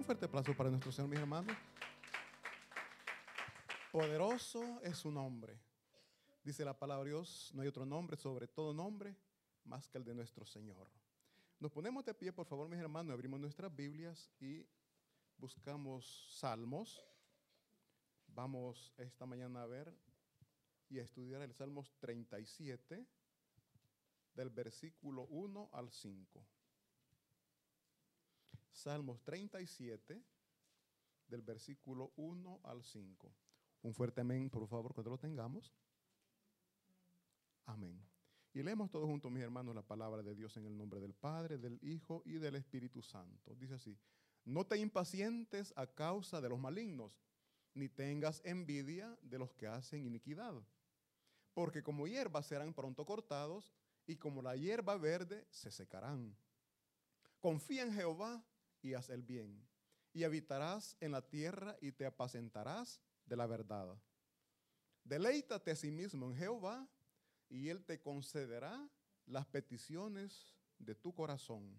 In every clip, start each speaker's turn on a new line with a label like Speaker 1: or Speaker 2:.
Speaker 1: fuerte aplauso para nuestro Señor, mis hermanos. Poderoso es su nombre. Dice la palabra de Dios, no hay otro nombre sobre todo nombre más que el de nuestro Señor. Nos ponemos de pie, por favor, mis hermanos, abrimos nuestras Biblias y buscamos Salmos. Vamos esta mañana a ver y a estudiar el Salmos 37, del versículo 1 al 5. Salmos 37, del versículo 1 al 5. Un fuerte amén, por favor, cuando lo tengamos. Amén. Y leemos todos juntos, mis hermanos, la palabra de Dios en el nombre del Padre, del Hijo y del Espíritu Santo. Dice así: no te impacientes a causa de los malignos, ni tengas envidia de los que hacen iniquidad, porque como hierba serán pronto cortados, y como la hierba verde se secarán. Confía en Jehová y haz el bien, y habitarás en la tierra y te apacentarás de la verdad. Deleítate a sí mismo en Jehová, y Él te concederá las peticiones de tu corazón.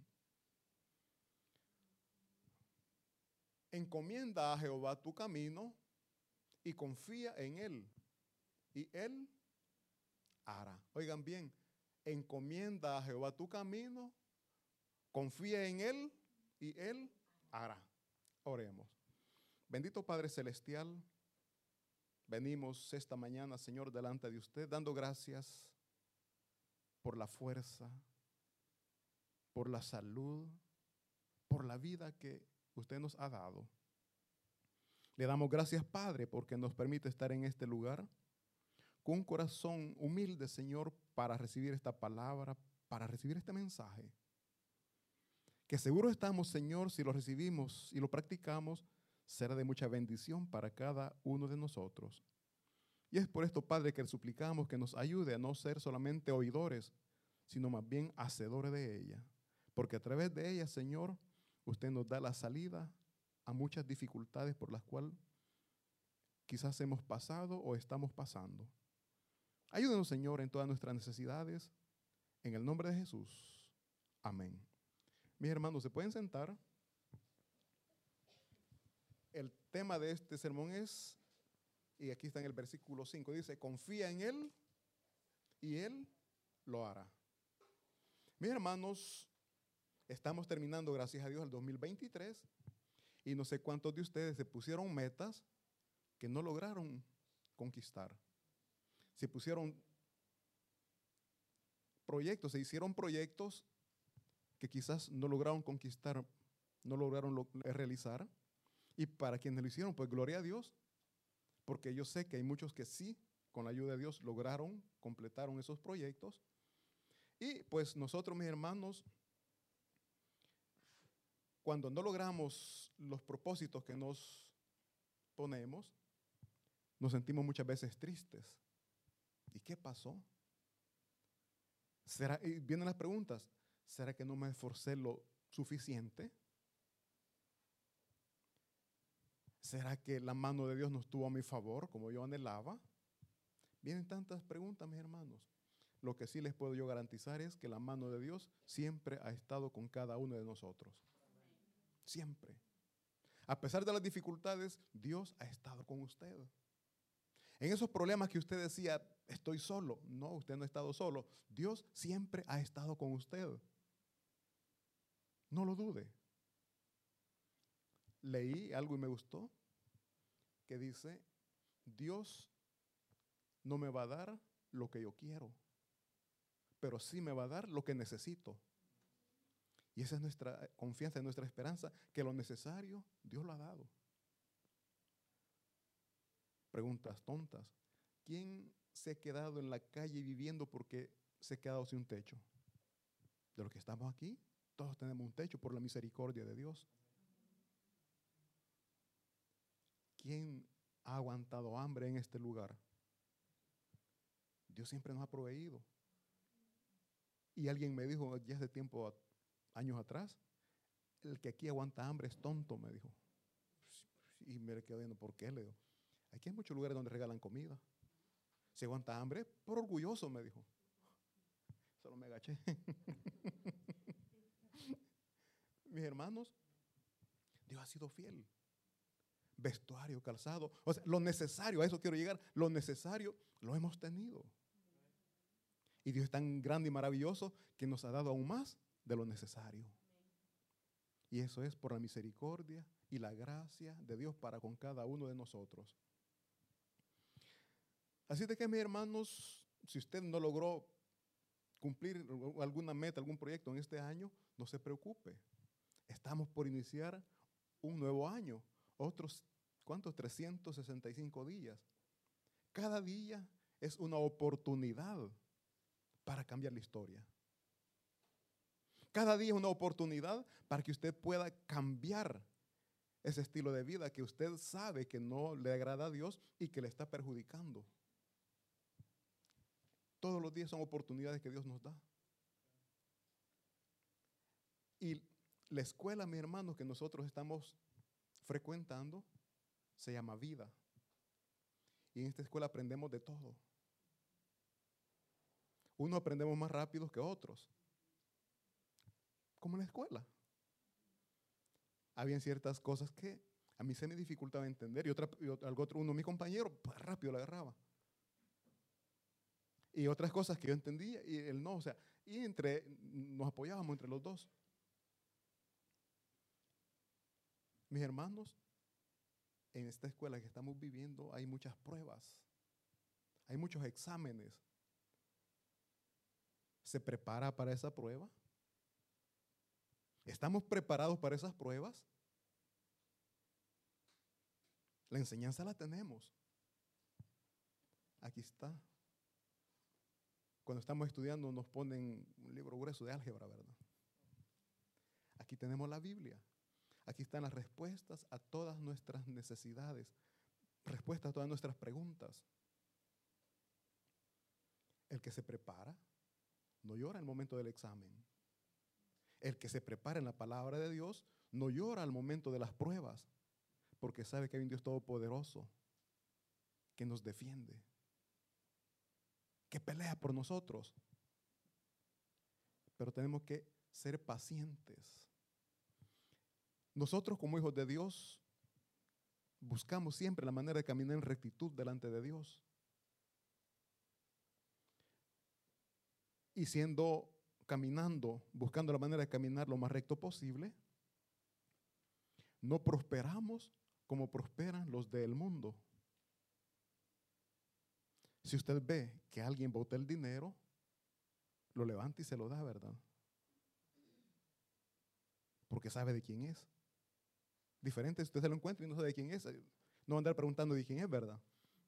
Speaker 1: Encomienda a Jehová tu camino y confía en Él, y Él hará. Oigan bien, encomienda a Jehová tu camino, confía en Él, y Él hará. Oremos. Bendito Padre Celestial, venimos esta mañana, Señor, delante de usted, dando gracias por la fuerza, por la salud, por la vida que usted nos ha dado. Le damos gracias, Padre, porque nos permite estar en este lugar con un corazón humilde, Señor, para recibir esta palabra, para recibir este mensaje. Que seguro estamos, Señor, si lo recibimos y lo practicamos, será de mucha bendición para cada uno de nosotros. Y es por esto, Padre, que le suplicamos que nos ayude a no ser solamente oidores, sino más bien hacedores de ella. Porque a través de ella, Señor, usted nos da la salida a muchas dificultades por las cuales quizás hemos pasado o estamos pasando. Ayúdenos, Señor, en todas nuestras necesidades. En el nombre de Jesús. Amén. Mis hermanos, ¿se pueden sentar? El tema de este sermón es, y aquí está en el versículo 5, dice: confía en Él y Él lo hará. Mis hermanos, estamos terminando, gracias a Dios, el 2023, y no sé cuántos de ustedes se pusieron metas que no lograron conquistar. Se pusieron proyectos, se hicieron proyectos que quizás no lograron conquistar, no lograron realizar. Y para quienes lo hicieron, pues gloria a Dios, porque yo sé que hay muchos que sí, con la ayuda de Dios, lograron, completaron esos proyectos. Y pues nosotros, mis hermanos, cuando no logramos los propósitos que nos ponemos, nos sentimos muchas veces tristes. ¿Y qué pasó? Y vienen las preguntas: ¿será que no me esforcé lo suficiente? ¿Será que la mano de Dios no estuvo a mi favor como yo anhelaba? Vienen tantas preguntas, mis hermanos. Lo que sí les puedo yo garantizar es que la mano de Dios siempre ha estado con cada uno de nosotros. Siempre. A pesar de las dificultades, Dios ha estado con usted. En esos problemas que usted decía, estoy solo. No, usted no ha estado solo. Dios siempre ha estado con usted. No lo dude. Leí algo y me gustó, que dice: Dios no me va a dar lo que yo quiero, pero sí me va a dar lo que necesito. Y esa es nuestra confianza, nuestra esperanza, que lo necesario Dios lo ha dado. Preguntas tontas. ¿Quién se ha quedado en la calle viviendo porque se ha quedado sin un techo? De los que estamos aquí, todos tenemos un techo por la misericordia de Dios. ¿Quién ha aguantado hambre en este lugar? Dios siempre nos ha proveído. Y alguien me dijo ya hace tiempo, años atrás, el que aquí aguanta hambre es tonto, me dijo. Y me quedé viendo, ¿por qué? Le digo, aquí hay muchos lugares donde regalan comida. Si aguanta hambre, por orgulloso, me dijo. Solo me agaché. Mis hermanos, Dios ha sido fiel. Vestuario, calzado, o sea, lo necesario, a eso quiero llegar, lo necesario lo hemos tenido. Y Dios es tan grande y maravilloso que nos ha dado aún más de lo necesario. Y eso es por la misericordia y la gracia de Dios para con cada uno de nosotros. Así de que, mis hermanos, si usted no logró cumplir alguna meta, algún proyecto en este año, no se preocupe. Estamos por iniciar un nuevo año. Otros, ¿cuántos? 365 días. Cada día es una oportunidad para cambiar la historia. Cada día es una oportunidad para que usted pueda cambiar ese estilo de vida que usted sabe que no le agrada a Dios y que le está perjudicando. Todos los días son oportunidades que Dios nos da. Y la escuela, mis hermanos, que nosotros estamos frecuentando, se llama vida. Y en esta escuela aprendemos de todo. Unos aprendemos más rápido que otros. Como en la escuela. Habían ciertas cosas que a mí se me dificultaba entender y uno de mis compañeros rápido la agarraba. Y otras cosas que yo entendía y él no, o sea, y nos apoyábamos entre los dos. Mis hermanos, en esta escuela que estamos viviendo hay muchas pruebas, hay muchos exámenes. ¿Se prepara para esa prueba? ¿Estamos preparados para esas pruebas? La enseñanza la tenemos. Aquí está. Cuando estamos estudiando nos ponen un libro grueso de álgebra, ¿verdad? Aquí tenemos la Biblia. Aquí están las respuestas a todas nuestras necesidades, respuestas a todas nuestras preguntas. El que se prepara no llora al momento del examen. El que se prepara en la palabra de Dios no llora al momento de las pruebas, porque sabe que hay un Dios todopoderoso que nos defiende, que pelea por nosotros. Pero tenemos que ser pacientes. Nosotros como hijos de Dios buscamos siempre la manera de caminar en rectitud delante de Dios. Y caminando, buscando la manera de caminar lo más recto posible, no prosperamos como prosperan los del mundo. Si usted ve que alguien bota el dinero, lo levanta y se lo da, ¿verdad? Porque sabe de quién es. Diferente si usted se lo encuentra y no sabe de quién es. No va a andar preguntando de quién es, ¿verdad?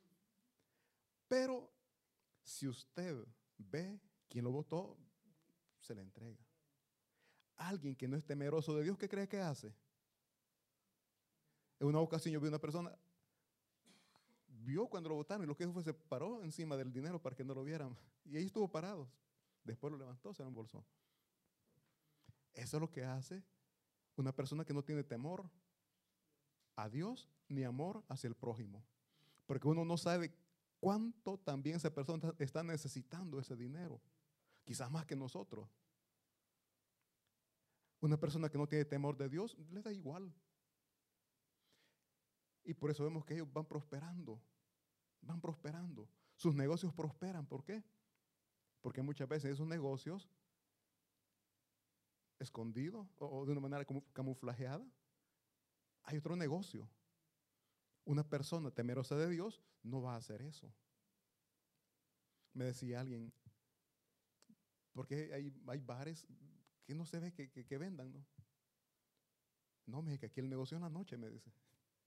Speaker 1: Pero si usted ve quién lo votó, se le entrega. Alguien que no es temeroso de Dios, ¿qué cree que hace? En una ocasión yo vi una persona, vio cuando lo votaron y lo que hizo fue se paró encima del dinero para que no lo vieran. Y ahí estuvo parado. Después lo levantó, se lo embolsó. Eso es lo que hace una persona que no tiene temor a Dios ni amor hacia el prójimo. Porque uno no sabe cuánto también esa persona está necesitando ese dinero. Quizás más que nosotros. Una persona que no tiene temor de Dios, le da igual. Y por eso vemos que ellos van prosperando. Van prosperando. Sus negocios prosperan. ¿Por qué? Porque muchas veces esos negocios, escondidos o de una manera camuflajeada, hay otro negocio. Una persona temerosa de Dios no va a hacer eso. Me decía alguien, porque hay bares que no se ve que vendan, ¿no? No, me dice que aquí el negocio en la noche, me dice.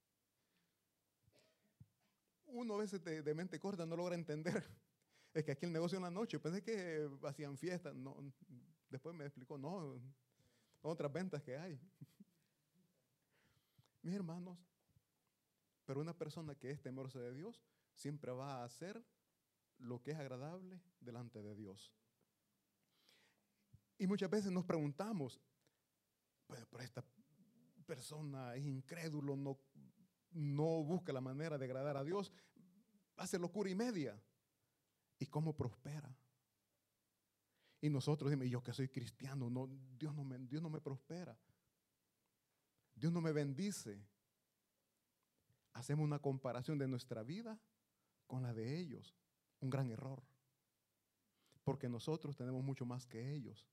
Speaker 1: Uno a veces de mente corta no logra entender. Es que aquí el negocio en la noche. Pensé que hacían fiestas. No, después me explicó, no, otras ventas que hay. Mis hermanos, pero una persona que es temerosa de Dios siempre va a hacer lo que es agradable delante de Dios. Y muchas veces nos preguntamos, pero esta persona es incrédulo, no busca la manera de agradar a Dios, hace locura y media. ¿Y cómo prospera? Y nosotros decimos, yo que soy cristiano, no, Dios no me prospera. Dios no me bendice. Hacemos una comparación de nuestra vida con la de ellos. Un gran error. Porque nosotros tenemos mucho más que ellos.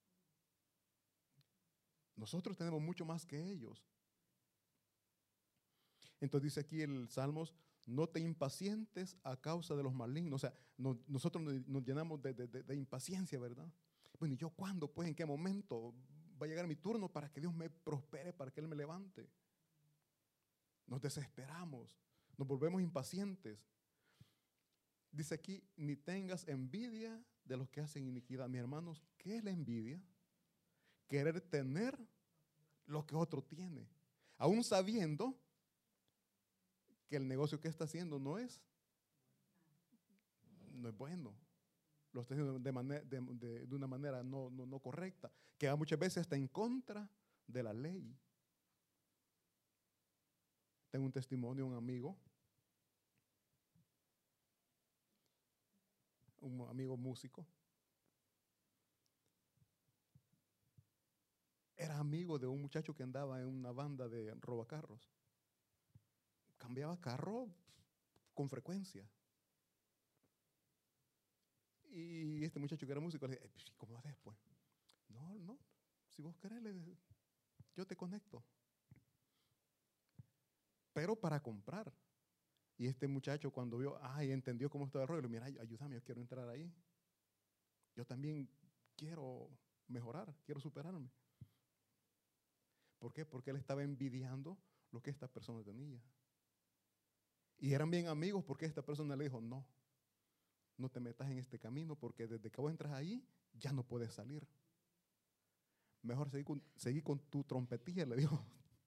Speaker 1: Nosotros tenemos mucho más que ellos. Entonces dice aquí el Salmos, no te impacientes a causa de los malignos. O sea, nosotros nos llenamos de impaciencia, ¿verdad? Bueno, ¿y yo cuándo? Pues, ¿en qué momento va a llegar mi turno para que Dios me prospere, para que Él me levante? Nos desesperamos, nos volvemos impacientes. Dice aquí, ni tengas envidia de los que hacen iniquidad. Mis hermanos, ¿qué es la envidia? Querer tener lo que otro tiene, aún sabiendo que el negocio que está haciendo no es bueno. Lo está haciendo de una manera no correcta, que va muchas veces está en contra de la ley. Tengo un testimonio de un amigo músico. Era amigo de un muchacho que andaba en una banda de robacarros. Cambiaba carro con frecuencia. Y este muchacho que era músico le dije, ¿cómo haces pues? No, si vos querés, yo te conecto. Pero para comprar. Y este muchacho cuando vio, entendió cómo estaba el rollo, le dijo, mira, ayúdame, yo quiero entrar ahí. Yo también quiero mejorar, quiero superarme. ¿Por qué? Porque él estaba envidiando lo que esta persona tenía. Y eran bien amigos porque esta persona le dijo, no te metas en este camino porque desde que vos entras ahí, ya no puedes salir. Mejor seguí con tu trompetilla, le dijo.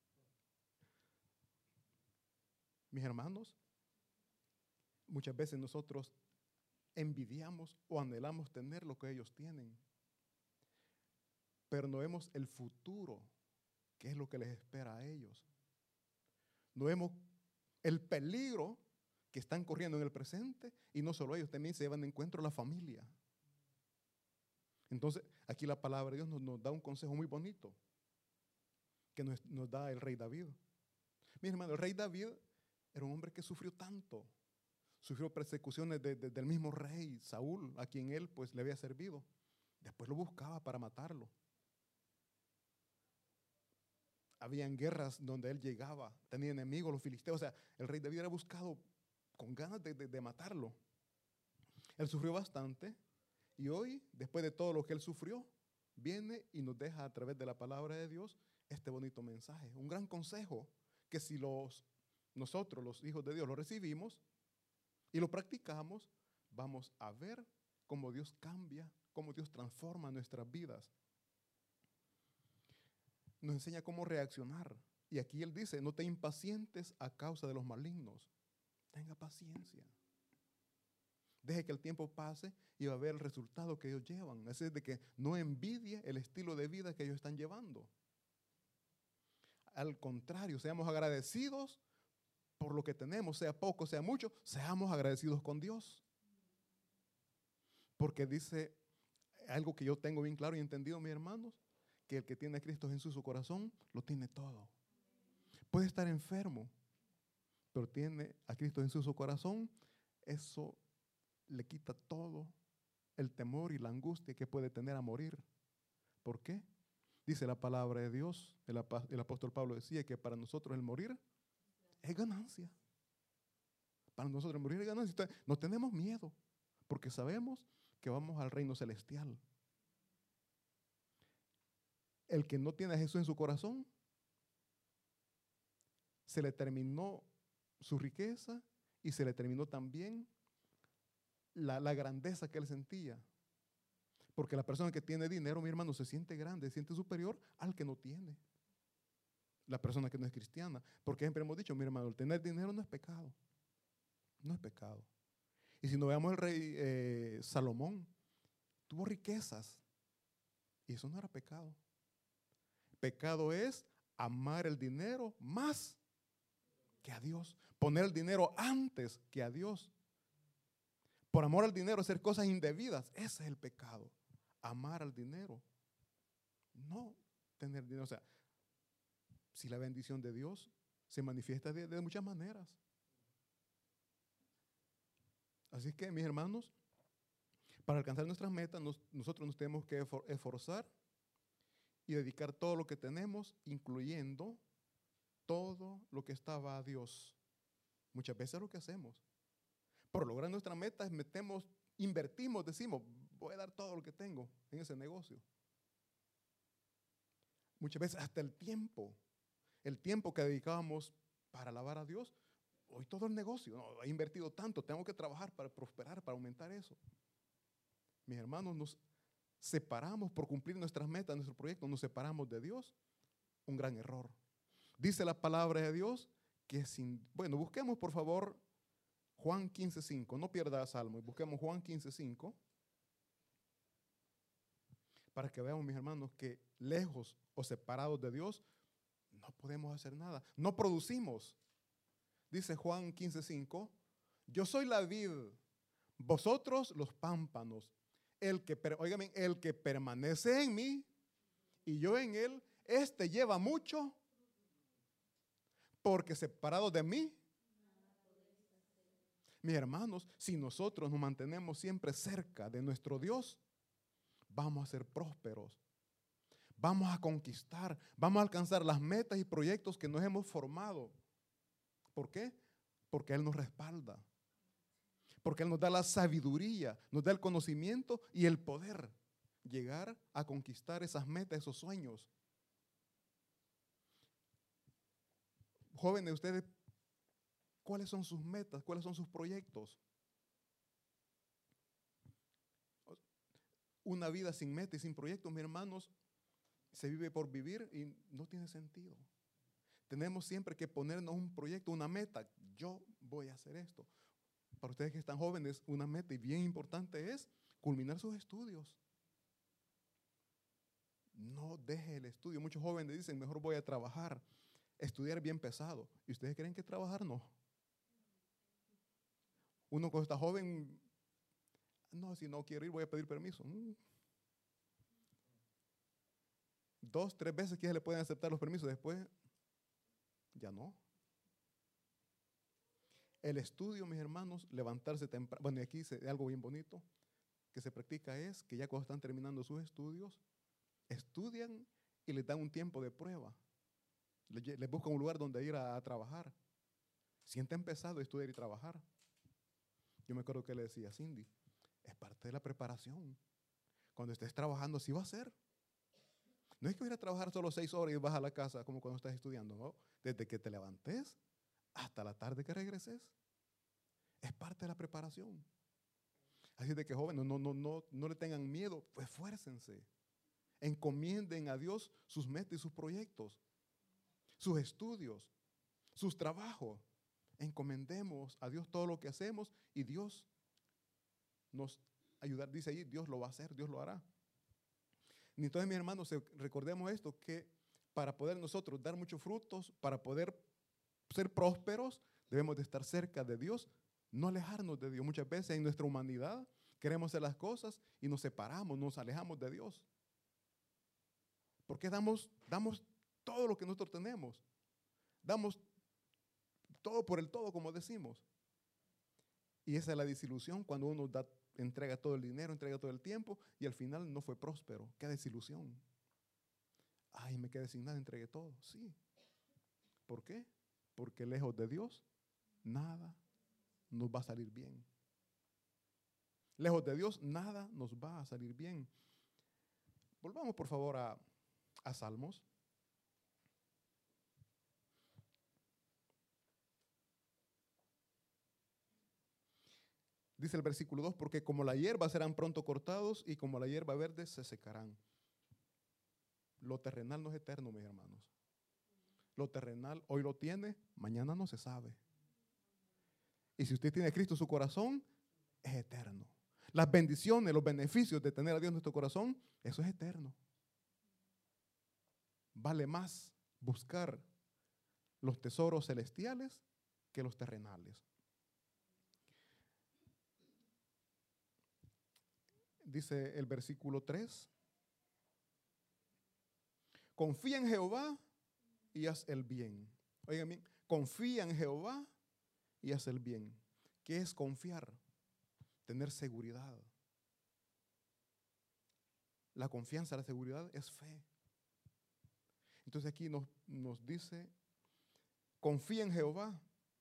Speaker 1: Mis hermanos, muchas veces nosotros envidiamos o anhelamos tener lo que ellos tienen, pero no vemos el futuro, que es lo que les espera a ellos. No vemos el peligro que están corriendo en el presente, y no solo ellos, también se llevan de encuentro a la familia. Entonces, aquí la palabra de Dios nos da un consejo muy bonito que nos da el rey David. Mi hermano, el rey David era un hombre que sufrió tanto. Sufrió persecuciones del mismo rey Saúl, a quien él pues le había servido. Después lo buscaba para matarlo. Habían guerras donde él llegaba, tenía enemigos, los filisteos. O sea, el rey David era buscado con ganas de matarlo. Él sufrió bastante y hoy, después de todo lo que él sufrió, viene y nos deja a través de la palabra de Dios este bonito mensaje. Un gran consejo que si nosotros, los hijos de Dios, lo recibimos y lo practicamos, vamos a ver cómo Dios cambia, cómo Dios transforma nuestras vidas. Nos enseña cómo reaccionar. Y aquí él dice, no te impacientes a causa de los malignos. Tenga paciencia. Deje que el tiempo pase y va a ver el resultado que ellos llevan. Es decir, de que no envidie el estilo de vida que ellos están llevando. Al contrario, seamos agradecidos por lo que tenemos, sea poco, sea mucho, seamos agradecidos con Dios. Porque dice algo que yo tengo bien claro y entendido, mis hermanos, que el que tiene a Cristo Jesús en su corazón, lo tiene todo. Puede estar enfermo, pero tiene a Cristo Jesús en su corazón, eso le quita todo el temor y la angustia que puede tener a morir. ¿Por qué? Dice la palabra de Dios, el apóstol Pablo decía que para nosotros el morir es ganancia. Para nosotros el morir es ganancia. Entonces, no tenemos miedo, porque sabemos que vamos al reino celestial. El que no tiene a Jesús en su corazón, se le terminó su riqueza y se le terminó también la grandeza que él sentía. Porque la persona que tiene dinero, mi hermano, se siente grande, se siente superior al que no tiene. La persona que no es cristiana. Porque siempre hemos dicho, mi hermano, el tener dinero no es pecado. No es pecado. Y si no veamos el rey Salomón, tuvo riquezas. Y eso no era pecado. Pecado es amar el dinero más que a Dios. Poner el dinero antes que a Dios. Por amor al dinero, hacer cosas indebidas. Ese es el pecado. Amar al dinero. No tener dinero. O sea, si la bendición de Dios se manifiesta de muchas maneras. Así que, mis hermanos, para alcanzar nuestras metas, nosotros nos tenemos que esforzar y dedicar todo lo que tenemos, incluyendo todo lo que estaba a Dios. Muchas veces es lo que hacemos. Por lograr nuestras metas, invertimos, decimos, voy a dar todo lo que tengo en ese negocio. Muchas veces hasta el tiempo que dedicábamos para alabar a Dios, hoy todo el negocio, no, he invertido tanto, tengo que trabajar para prosperar, para aumentar eso. Mis hermanos, nos separamos por cumplir nuestras metas, nuestro proyecto, nos separamos de Dios, un gran error. Dice la palabra de Dios que busquemos por favor Juan 15:5, no pierda Salmo, busquemos Juan 15:5 para que veamos, mis hermanos, que lejos o separados de Dios no podemos hacer nada, no producimos. Dice Juan 15:5, yo soy la vid, vosotros los pámpanos. El que permanece en mí y yo en él, este lleva mucho, porque separado de mí, mis hermanos, si nosotros nos mantenemos siempre cerca de nuestro Dios, vamos a ser prósperos, vamos a conquistar, vamos a alcanzar las metas y proyectos que nos hemos formado. ¿Por qué? Porque Él nos respalda, porque Él nos da la sabiduría, nos da el conocimiento y el poder llegar a conquistar esas metas, esos sueños. Jóvenes, ustedes, ¿cuáles son sus metas? ¿Cuáles son sus proyectos? Una vida sin meta y sin proyectos, mis hermanos, se vive por vivir y no tiene sentido. Tenemos siempre que ponernos un proyecto, una meta. Yo voy a hacer esto. Para ustedes que están jóvenes, una meta y bien importante es culminar sus estudios. No deje el estudio. Muchos jóvenes dicen, mejor voy a trabajar, estudiar bien pesado. ¿Y ustedes creen que trabajar no? Uno cuando está joven, no, si no quiero ir voy a pedir permiso. 2, 3 veces que ya le pueden aceptar los permisos, después ya no. El estudio, mis hermanos, levantarse temprano. Bueno, y aquí algo bien bonito que se practica es que ya cuando están terminando sus estudios, estudian y les dan un tiempo de prueba. Les buscan un lugar donde ir a trabajar. Sienten pesado estudiar y trabajar. Yo me acuerdo que le decía a Cindy, es parte de la preparación. Cuando estés trabajando, así va a ser. No es que ir a trabajar solo 6 horas y vas a la casa como cuando estás estudiando, ¿no? Desde que te levantes hasta la tarde que regreses. Es parte de la preparación. Así de que jóvenes, no le tengan miedo, pues esfuércense. Encomienden a Dios sus metas y sus proyectos, sus estudios, sus trabajos. Encomendemos a Dios todo lo que hacemos y Dios nos ayudará. Dice ahí, Dios lo va a hacer, Dios lo hará. Y entonces, mis hermanos, recordemos esto, que para poder nosotros dar muchos frutos, para poder ser prósperos, debemos de estar cerca de Dios, no alejarnos de Dios. Muchas veces en nuestra humanidad queremos hacer las cosas y nos separamos, nos alejamos de Dios. Porque damos todo lo que nosotros tenemos. Damos todo por el todo, como decimos. Y esa es la desilusión cuando uno entrega todo el dinero, entrega todo el tiempo y al final no fue próspero. Qué desilusión. Ay, me quedé sin nada, entregué todo. Sí. ¿Por qué? Porque lejos de Dios, nada nos va a salir bien. Lejos de Dios, nada nos va a salir bien. Volvamos, por favor, a Salmos. Dice el versículo 2, porque como la hierba serán pronto cortados y como la hierba verde se secarán. Lo terrenal no es eterno, mis hermanos. Lo terrenal hoy lo tiene, mañana no se sabe. Y si usted tiene a Cristo en su corazón, es eterno. Las bendiciones, los beneficios de tener a Dios en nuestro corazón, eso es eterno. Vale más buscar los tesoros celestiales que los terrenales. Dice el versículo 3. Confía en Jehová y haz el bien. Oigan bien, confía en Jehová y haz el bien. ¿Qué es confiar? Tener seguridad. La confianza, la seguridad es fe. Entonces aquí nos dice, confía en Jehová,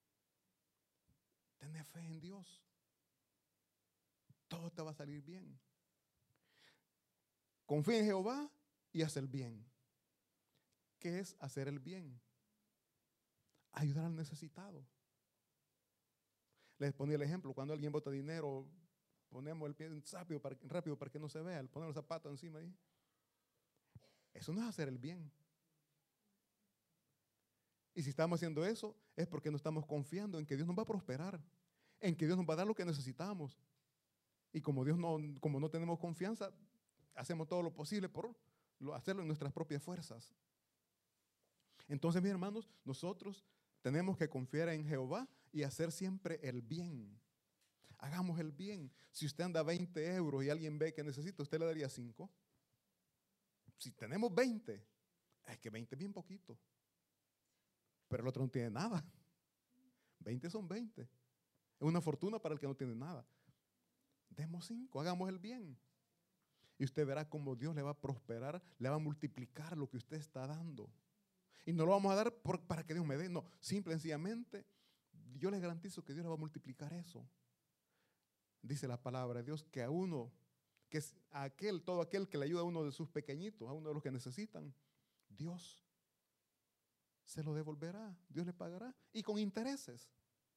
Speaker 1: ten fe en Dios. Todo te va a salir bien. Confía en Jehová y haz el bien. ¿Qué es hacer el bien? Ayudar al necesitado. Les ponía el ejemplo, cuando alguien bota dinero, ponemos el pie rápido para que no se vea, ponemos el zapato encima ahí. Eso no es hacer el bien. Y si estamos haciendo eso, es porque no estamos confiando en que Dios nos va a prosperar, en que Dios nos va a dar lo que necesitamos. Y como no tenemos confianza, hacemos todo lo posible por hacerlo en nuestras propias fuerzas. Entonces, mis hermanos, nosotros tenemos que confiar en Jehová y hacer siempre el bien. Hagamos el bien. Si usted anda 20 euros y alguien ve que necesita, usted le daría 5. Si tenemos 20, es que 20 es bien poquito. Pero el otro no tiene nada. 20 son 20. Es una fortuna para el que no tiene nada. Demos 5, hagamos el bien. Y usted verá cómo Dios le va a prosperar, le va a multiplicar lo que usted está dando. Y no lo vamos a dar para que Dios me dé. No, simple y sencillamente, yo le garantizo que Dios le va a multiplicar eso. Dice la palabra de Dios que a uno, que es todo aquel que le ayuda a uno de sus pequeñitos, a uno de los que necesitan, Dios se lo devolverá, Dios le pagará. Y con intereses.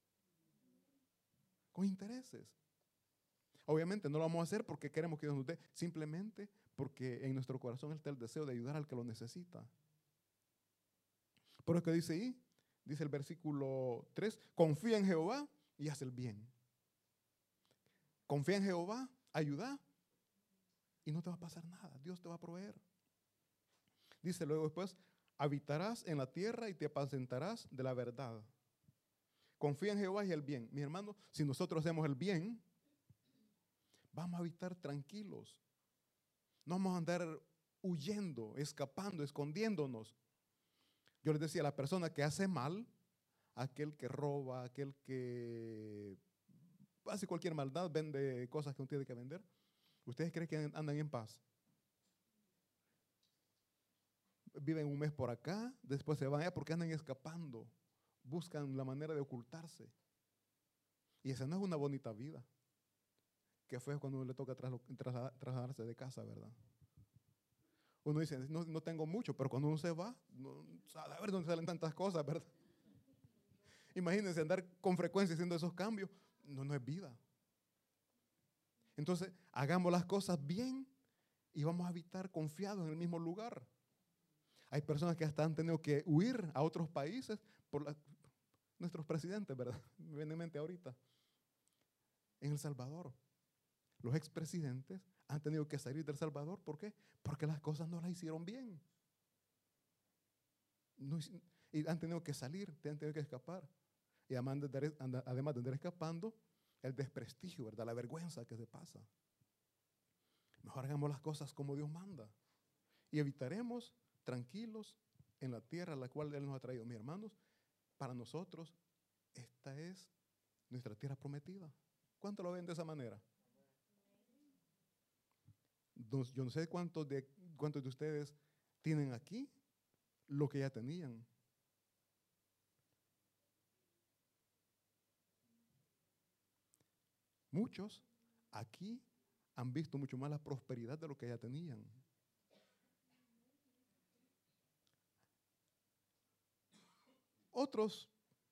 Speaker 1: Con intereses. Obviamente no lo vamos a hacer porque queremos que Dios nos dé, simplemente porque en nuestro corazón está el deseo de ayudar al que lo necesita. Por eso que dice ahí, dice el versículo 3, confía en Jehová y haz el bien. Confía en Jehová, ayuda y no te va a pasar nada, Dios te va a proveer. Dice luego después, habitarás en la tierra y te apacentarás de la verdad. Confía en Jehová y el bien. Mi hermano, si nosotros hacemos el bien, vamos a habitar tranquilos. No vamos a andar huyendo, escapando, escondiéndonos. Yo les decía, la persona que hace mal, aquel que roba, aquel que hace cualquier maldad, vende cosas que no tiene que vender, ¿ustedes creen que andan en paz? Viven un mes por acá, después se van allá porque andan escapando, buscan la manera de ocultarse. Y esa no es una bonita vida. Que fue cuando uno le toca trasladarse de casa, ¿verdad? Uno dice, no tengo mucho, pero cuando uno se va, a ver dónde salen tantas cosas, ¿verdad? Imagínense andar con frecuencia haciendo esos cambios. No es vida. Entonces, hagamos las cosas bien y vamos a habitar confiados en el mismo lugar. Hay personas que hasta han tenido que huir a otros países por nuestros presidentes, ¿verdad? Me viene en mente ahorita. En El Salvador, los expresidentes han tenido que salir de El Salvador. ¿Por qué? Porque las cosas no las hicieron bien. Y han tenido que salir, han tenido que escapar. Y además de andar escapando, el desprestigio, ¿verdad? La vergüenza que se pasa. Mejor hagamos las cosas como Dios manda. Y evitaremos tranquilos en la tierra a la cual Él nos ha traído. Mis hermanos, para nosotros, esta es nuestra tierra prometida. ¿Cuánto lo ven de esa manera? Yo no sé cuántos de ustedes tienen aquí lo que ya tenían. Muchos aquí han visto mucho más la prosperidad de lo que ya tenían. Otros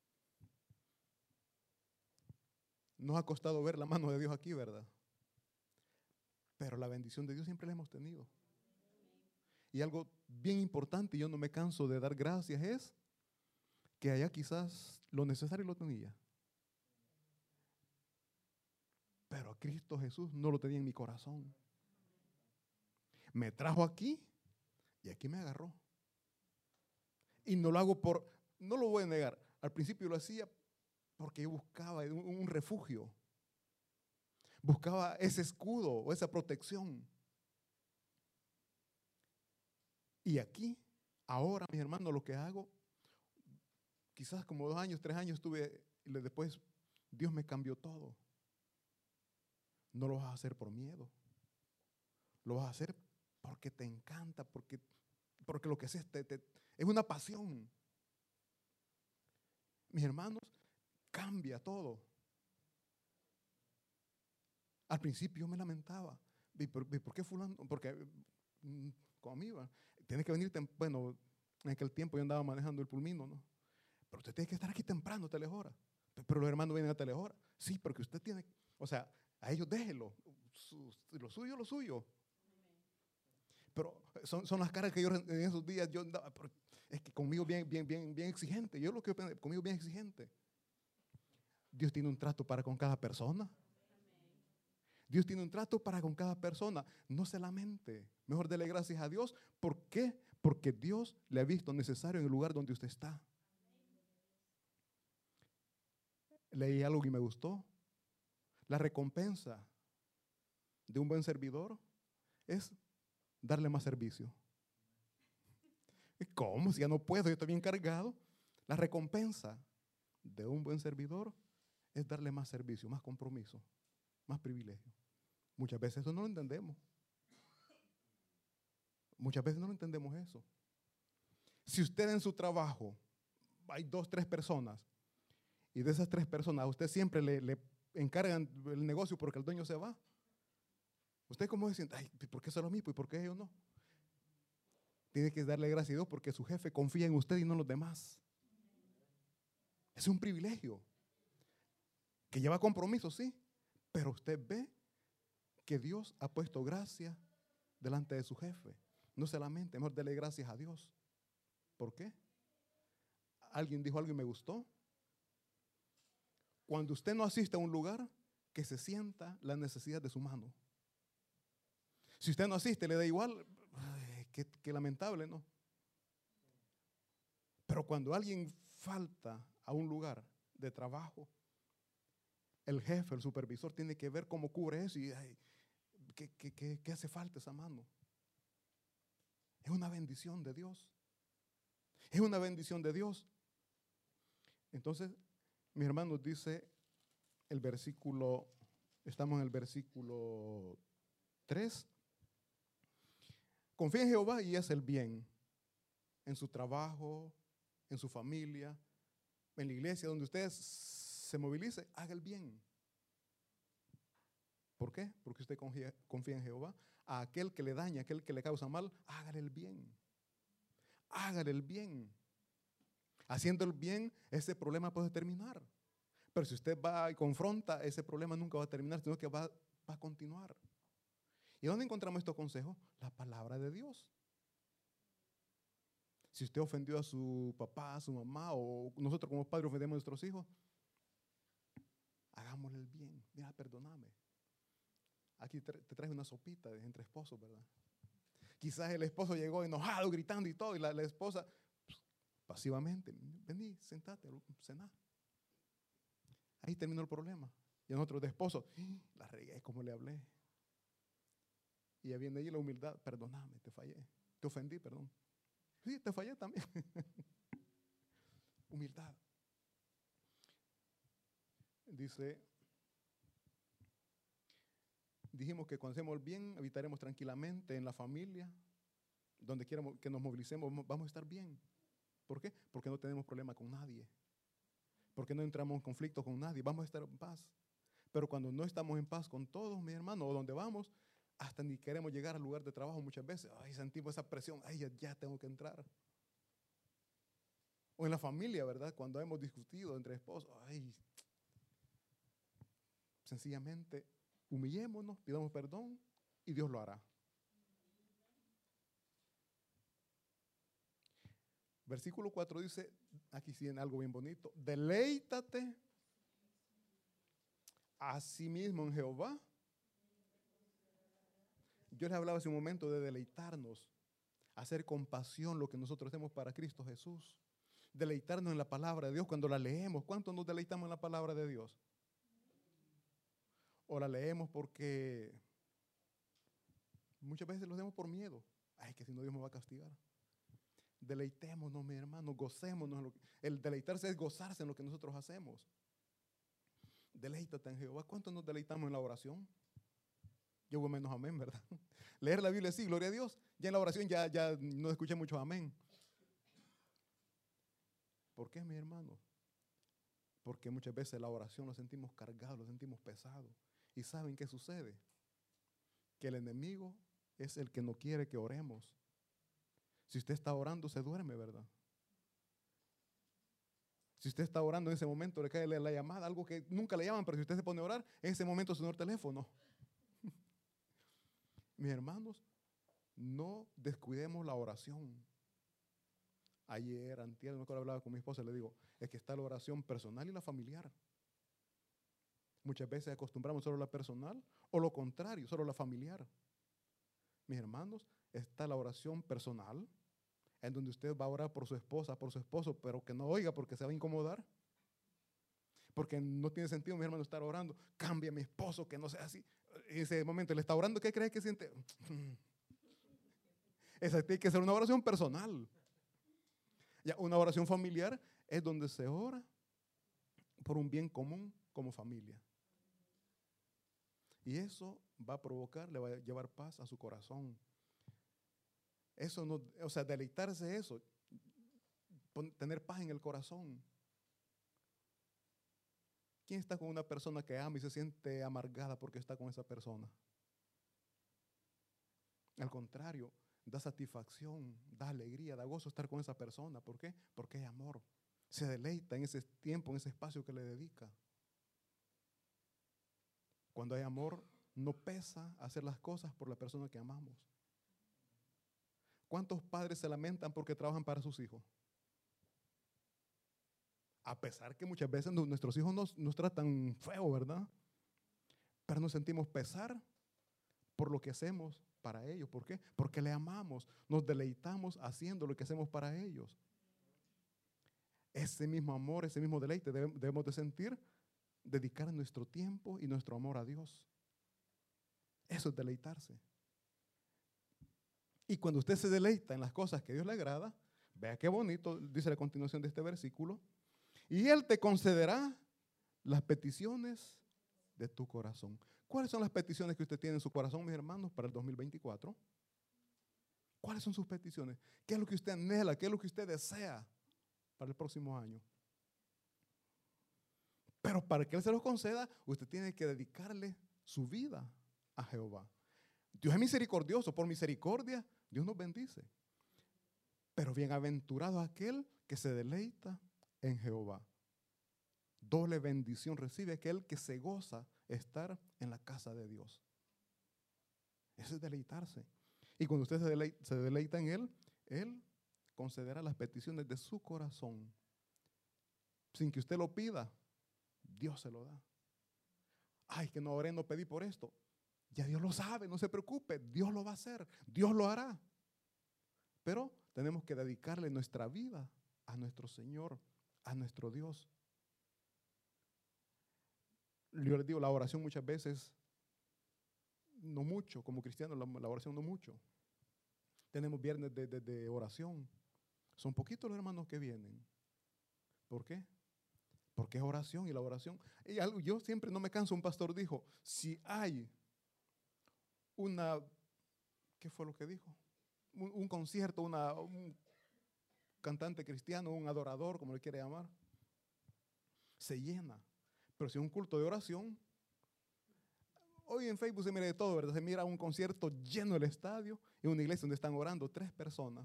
Speaker 1: nos ha costado ver la mano de Dios aquí, ¿verdad? Pero la bendición de Dios siempre la hemos tenido. Y algo bien importante, y yo no me canso de dar gracias, es que allá quizás lo necesario lo tenía. Pero a Cristo Jesús no lo tenía en mi corazón. Me trajo aquí y aquí me agarró. Y no lo hago no lo voy a negar, al principio lo hacía porque yo buscaba un refugio. Buscaba ese escudo o esa protección. Y aquí Ahora, mis hermanos, lo que hago, quizás como 2 años, 3 años estuve, y después Dios me cambió todo. No lo vas a hacer por miedo. Lo vas a hacer porque te encanta, porque lo que haces es una pasión. Mis hermanos, cambia todo. Al principio yo me lamentaba. ¿Y por qué fulano? Porque conmigo, tienes que venir, bueno, en aquel tiempo yo andaba manejando el pulmino, ¿no? Pero usted tiene que estar aquí temprano, tales horas. Pero los hermanos vienen a tales horas. Sí, porque usted tiene, o sea, a ellos déjelo. Lo suyo, lo suyo. Pero son las caras que yo en esos días yo andaba, es que conmigo bien exigente. Yo lo que conmigo bien exigente. Dios tiene un trato para con cada persona. Dios tiene un trato para con cada persona. No se lamente. Mejor dele gracias a Dios. ¿Por qué? Porque Dios le ha visto necesario en el lugar donde usted está. Leí algo y me gustó. La recompensa de un buen servidor es darle más servicio. ¿Cómo? Si ya no puedo, yo estoy bien cargado. La recompensa de un buen servidor es darle más servicio, más compromiso, más privilegio. Muchas veces eso no lo entendemos. Muchas veces no lo entendemos eso. Si usted en su trabajo hay 2, 3 personas y de esas 3 personas a usted siempre le encargan el negocio porque el dueño se va, usted como dice, ay, ¿por qué solo a mí? ¿Y por qué ellos no? Tiene que darle gracias a Dios porque su jefe confía en usted y no en los demás. Es un privilegio que lleva compromiso, sí, pero usted ve que Dios ha puesto gracia delante de su jefe. No se lamente, mejor dele gracias a Dios. ¿Por qué? Alguien dijo algo y me gustó. Cuando usted no asiste a un lugar, que se sienta la necesidad de su mano. Si usted no asiste, le da igual, ay, qué lamentable, ¿no? Pero cuando alguien falta a un lugar de trabajo, el jefe, el supervisor, tiene que ver cómo cubre eso y ay, ¿qué hace falta esa mano? Es una bendición de Dios. Es una bendición de Dios. Entonces, mis hermanos, dice el versículo, estamos en el versículo 3. Confía en Jehová y haz el bien en su trabajo, en su familia, en la iglesia, donde usted se movilice, haga el bien. ¿Por qué? Porque usted confía en Jehová. A aquel que le daña, a aquel que le causa mal, hágale el bien. Hágale el bien. Haciendo el bien, ese problema puede terminar. Pero si usted va y confronta, ese problema nunca va a terminar, sino que va a continuar. ¿Y dónde encontramos estos consejos? La palabra de Dios. Si usted ofendió a su papá, a su mamá, o nosotros como padres ofendemos a nuestros hijos, hagámosle el bien. Mira, perdóname. Aquí te traes una sopita entre esposos, ¿verdad? Quizás el esposo llegó enojado, gritando y todo, y la esposa pasivamente, vení, sentate, cená. Ahí terminó el problema. Y nosotros de esposo, la regué como le hablé. Y ya viene ahí la humildad, perdóname, te fallé, te ofendí, perdón. Sí, te fallé también. Humildad. Dijimos que cuando hacemos el bien, habitaremos tranquilamente en la familia, donde quiera que nos movilicemos, vamos a estar bien. ¿Por qué? Porque no tenemos problema con nadie. Porque no entramos en conflicto con nadie, vamos a estar en paz. Pero cuando no estamos en paz con todos, mis hermanos, o donde vamos, hasta ni queremos llegar al lugar de trabajo muchas veces. Ay, sentimos esa presión, ay, ya tengo que entrar. O en la familia, ¿verdad? Cuando hemos discutido entre esposos, ay, sencillamente humillémonos, pidamos perdón y Dios lo hará. Versículo 4 dice, aquí sí en algo bien bonito, deleítate a sí mismo en Jehová. Yo les hablaba hace un momento de deleitarnos, hacer con pasión lo que nosotros hacemos para Cristo Jesús. Deleitarnos en la palabra de Dios cuando la leemos. ¿Cuánto nos deleitamos en la palabra de Dios? O la leemos porque muchas veces lo hacemos por miedo. Ay, que si no Dios me va a castigar. Deleitémonos, mi hermano, gocémonos. El deleitarse es gozarse en lo que nosotros hacemos. Deleítate en Jehová. ¿Cuánto nos deleitamos en la oración? Yo voy menos amén, ¿verdad? Leer la Biblia sí, gloria a Dios. Ya en la oración ya no escuché mucho amén. ¿Por qué, mi hermano? Porque muchas veces la oración lo sentimos cargado, lo sentimos pesado. ¿Y saben qué sucede? Que el enemigo es el que no quiere que oremos. Si usted está orando, se duerme, ¿verdad? Si usted está orando en ese momento, le cae la llamada, algo que nunca le llaman, pero si usted se pone a orar, en ese momento suena el teléfono. Mis hermanos, no descuidemos la oración. Ayer, antier, me acuerdo, hablaba con mi esposa y le digo, es que está la oración personal y la familiar. Muchas veces acostumbramos solo la personal o lo contrario, solo la familiar. Mis hermanos, está la oración personal, en donde usted va a orar por su esposa, por su esposo, pero que no oiga porque se va a incomodar. Porque no tiene sentido, mi hermano, estar orando. Cambia a mi esposo, que no sea así. En ese momento le está orando, ¿qué cree que siente? Esa tiene que ser una oración personal. Ya, una oración familiar es donde se ora por un bien común como familia. Y eso va a provocar, le va a llevar paz a su corazón. Eso no, o sea, deleitarse eso, tener paz en el corazón. ¿Quién está con una persona que ama y se siente amargada porque está con esa persona? Al contrario, da satisfacción, da alegría, da gozo estar con esa persona. ¿Por qué? Porque hay amor. Se deleita en ese tiempo, en ese espacio que le dedica. Cuando hay amor, no pesa hacer las cosas por la persona que amamos. ¿Cuántos padres se lamentan porque trabajan para sus hijos? A pesar que muchas veces nuestros hijos nos tratan feo, ¿verdad? Pero nos sentimos pesar por lo que hacemos para ellos. ¿Por qué? Porque le amamos, nos deleitamos haciendo lo que hacemos para ellos. Ese mismo amor, ese mismo deleite debemos de sentir, dedicar nuestro tiempo y nuestro amor a Dios. Eso es deleitarse. Y cuando usted se deleita en las cosas que a Dios le agrada, vea qué bonito, dice la continuación de este versículo, y Él te concederá las peticiones de tu corazón. ¿Cuáles son las peticiones que usted tiene en su corazón, mis hermanos, para el 2024? ¿Cuáles son sus peticiones? ¿Qué es lo que usted anhela? ¿Qué es lo que usted desea para el próximo año? Pero para que Él se los conceda, usted tiene que dedicarle su vida a Jehová. Dios es misericordioso, por misericordia Dios nos bendice. Pero bienaventurado aquel que se deleita en Jehová. Doble bendición recibe aquel que se goza estar en la casa de Dios. Eso es deleitarse. Y cuando usted se deleita en Él, Él concederá las peticiones de su corazón. Sin que usted lo pida, Dios se lo da. Ay, que no oré, no pedí por esto. Ya Dios lo sabe, no se preocupe, Dios lo va a hacer, Dios lo hará. Pero tenemos que dedicarle nuestra vida a nuestro Señor, a nuestro Dios. Yo les digo, la oración muchas veces, no mucho, como cristianos, la oración no mucho. Tenemos viernes de oración. Son poquitos los hermanos que vienen. ¿Por qué? Porque es oración y la oración. Y yo siempre no me canso, un pastor dijo, si hay ¿qué fue lo que dijo? Un concierto, un cantante cristiano, un adorador, como le quiere llamar, se llena. Pero si es un culto de oración, hoy en Facebook se mira de todo, ¿verdad? Se mira un concierto lleno del estadio y una iglesia donde están orando 3 personas.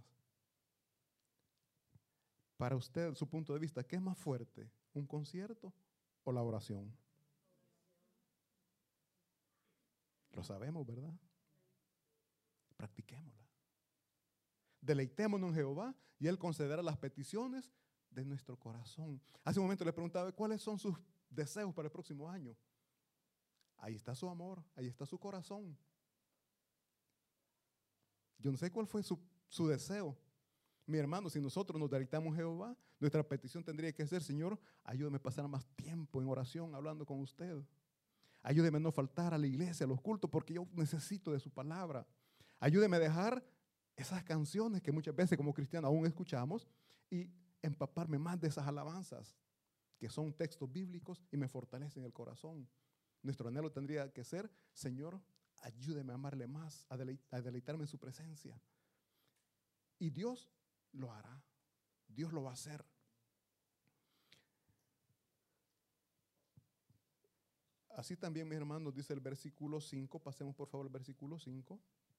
Speaker 1: Para usted, su punto de vista, ¿qué es más fuerte? ¿Un concierto o la oración? Lo sabemos, ¿verdad? Practiquémosla. Deleitémonos en Jehová y Él concederá las peticiones de nuestro corazón. Hace un momento le preguntaba, ¿cuáles son sus deseos para el próximo año? Ahí está su amor, ahí está su corazón. Yo no sé cuál fue su deseo. Mi hermano, si nosotros nos deleitamos en Jehová, nuestra petición tendría que ser, Señor, ayúdame a pasar más tiempo en oración hablando con usted. Ayúdeme a no faltar a la iglesia, a los cultos, porque yo necesito de su palabra. Ayúdeme a dejar esas canciones que muchas veces como cristianos aún escuchamos y empaparme más de esas alabanzas que son textos bíblicos y me fortalecen el corazón. Nuestro anhelo tendría que ser: Señor, ayúdeme a amarle más, a deleitarme en su presencia. Y Dios lo hará. Dios lo va a hacer. Así también, mis hermanos, dice el versículo 5. Pasemos por favor al versículo 5.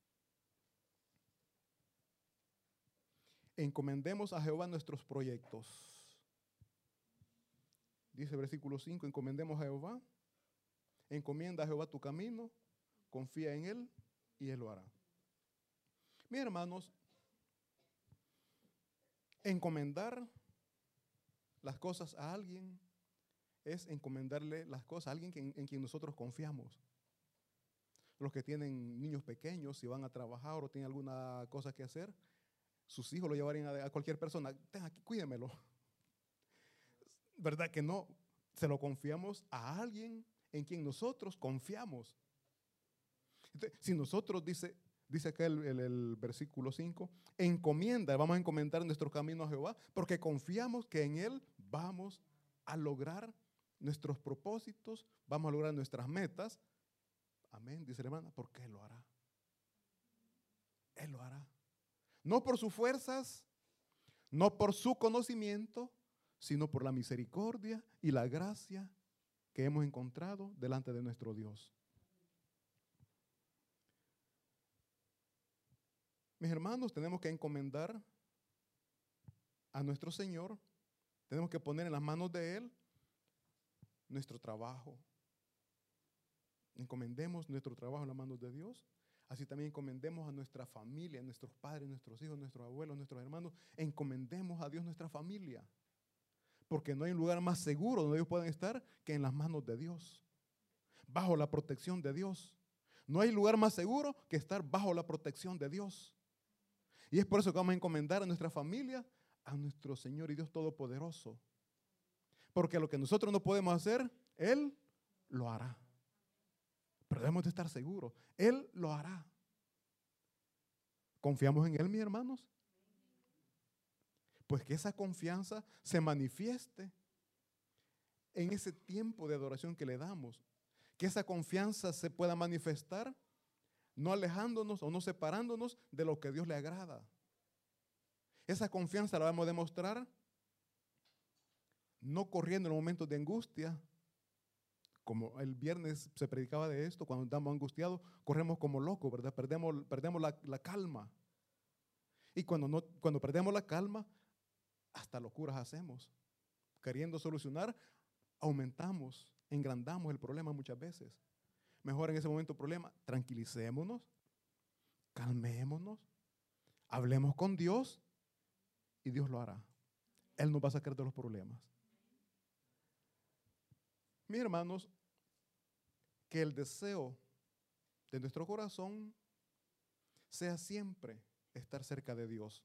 Speaker 1: Encomendemos a Jehová nuestros proyectos. Dice el versículo 5, encomendemos a Jehová. Encomienda a Jehová tu camino, confía en Él y Él lo hará. Mis hermanos, encomendar las cosas a alguien es encomendarle las cosas a alguien en quien nosotros confiamos. Los que tienen niños pequeños, si van a trabajar o tienen alguna cosa que hacer, sus hijos lo llevarían a cualquier persona. Ten aquí, cuídemelo. ¿Verdad que no? Se lo confiamos a alguien en quien nosotros confiamos. Entonces, si nosotros, dice acá el versículo 5, encomienda, vamos a encomendar nuestro camino a Jehová, porque confiamos que en Él vamos a lograr nuestros propósitos, vamos a lograr nuestras metas. Amén, dice la hermana, porque Él lo hará. Él lo hará. No por sus fuerzas, no por su conocimiento, sino por la misericordia y la gracia que hemos encontrado delante de nuestro Dios. Mis hermanos, tenemos que encomendar a nuestro Señor, tenemos que poner en las manos de Él nuestro trabajo. Encomendemos nuestro trabajo en las manos de Dios. Así también encomendemos a nuestra familia, a nuestros padres, nuestros hijos, nuestros abuelos, nuestros hermanos. Encomendemos a Dios nuestra familia. Porque no hay un lugar más seguro donde ellos puedan estar que en las manos de Dios. Bajo la protección de Dios. No hay lugar más seguro que estar bajo la protección de Dios. Y es por eso que vamos a encomendar a nuestra familia a nuestro Señor y Dios Todopoderoso. Porque lo que nosotros no podemos hacer, Él lo hará. Pero debemos de estar seguros. Él lo hará. ¿Confiamos en Él, mis hermanos? Pues que esa confianza se manifieste en ese tiempo de adoración que le damos. Que esa confianza se pueda manifestar no alejándonos o no separándonos de lo que a Dios le agrada. Esa confianza la vamos a demostrar no corriendo en los momentos de angustia, como el viernes se predicaba de esto, cuando estamos angustiados, corremos como locos, ¿verdad? Perdemos la calma. Y cuando perdemos la calma, hasta locuras hacemos. Queriendo solucionar, aumentamos, engrandamos el problema muchas veces. Mejor en ese momento problema, tranquilicémonos, calmémonos, hablemos con Dios y Dios lo hará. Él nos va a sacar de los problemas. Mis hermanos, que el deseo de nuestro corazón sea siempre estar cerca de Dios.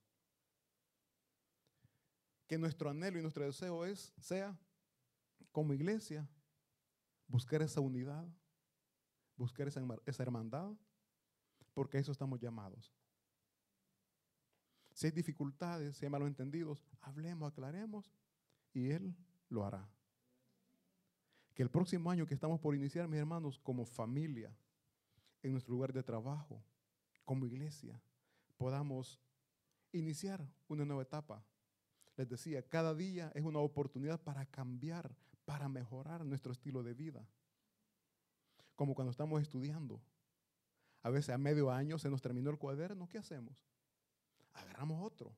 Speaker 1: Que nuestro anhelo y nuestro deseo sea, como iglesia, buscar esa unidad, buscar esa hermandad, porque a eso estamos llamados. Si hay dificultades, si hay malos entendidos, hablemos, aclaremos y Él lo hará. Que el próximo año que estamos por iniciar, mis hermanos, como familia, en nuestro lugar de trabajo, como iglesia, podamos iniciar una nueva etapa. Les decía, cada día es una oportunidad para cambiar, para mejorar nuestro estilo de vida. Como cuando estamos estudiando. A veces a medio año se nos terminó el cuaderno, ¿qué hacemos? Agarramos otro.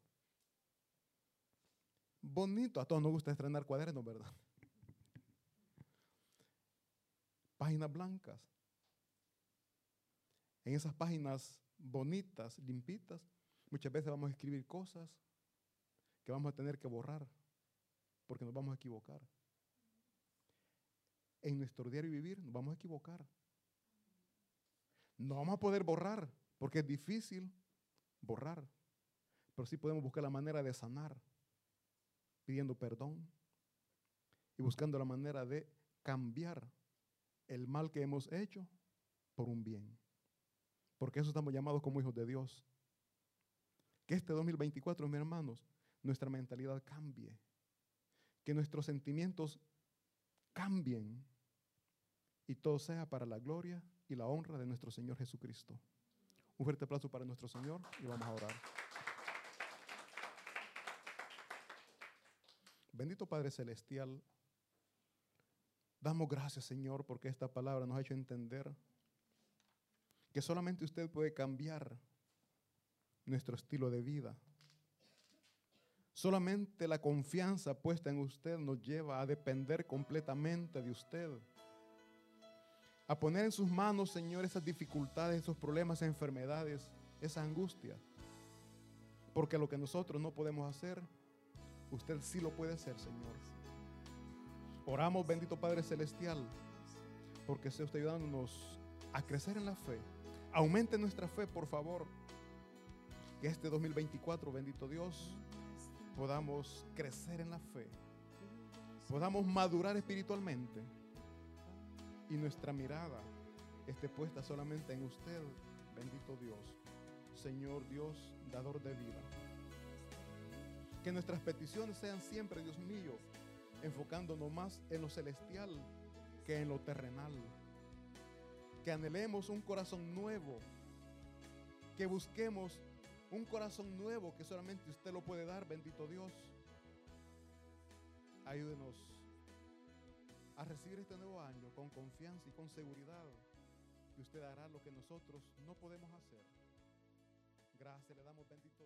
Speaker 1: Bonito, a todos nos gusta estrenar cuadernos, ¿verdad? Páginas blancas. En esas páginas bonitas, limpitas, muchas veces vamos a escribir cosas que vamos a tener que borrar porque nos vamos a equivocar. En nuestro diario vivir nos vamos a equivocar. No vamos a poder borrar porque es difícil borrar, pero sí podemos buscar la manera de sanar, pidiendo perdón y buscando la manera de cambiar el mal que hemos hecho por un bien. Porque eso estamos llamados como hijos de Dios. Que este 2024, mis hermanos, nuestra mentalidad cambie. Que nuestros sentimientos cambien. Y todo sea para la gloria y la honra de nuestro Señor Jesucristo. Un fuerte aplauso para nuestro Señor y vamos a orar. Bendito Padre Celestial, damos gracias, Señor, porque esta palabra nos ha hecho entender que solamente usted puede cambiar nuestro estilo de vida. Solamente la confianza puesta en usted nos lleva a depender completamente de usted. A poner en sus manos, Señor, esas dificultades, esos problemas, esas enfermedades, esa angustia. Porque lo que nosotros no podemos hacer, usted sí lo puede hacer, Señor. Oramos, bendito Padre Celestial, porque sea usted ayudándonos a crecer en la fe. Aumente nuestra fe, por favor. Que este 2024, bendito Dios, podamos crecer en la fe. Podamos madurar espiritualmente. Y nuestra mirada esté puesta solamente en usted, bendito Dios, Señor Dios, dador de vida. Que nuestras peticiones sean siempre, Dios mío, enfocándonos más en lo celestial que en lo terrenal. Que anhelemos un corazón nuevo, que busquemos un corazón nuevo que solamente usted lo puede dar, bendito Dios. Ayúdenos a recibir este nuevo año con confianza y con seguridad que usted hará lo que nosotros no podemos hacer. Gracias le damos, bendito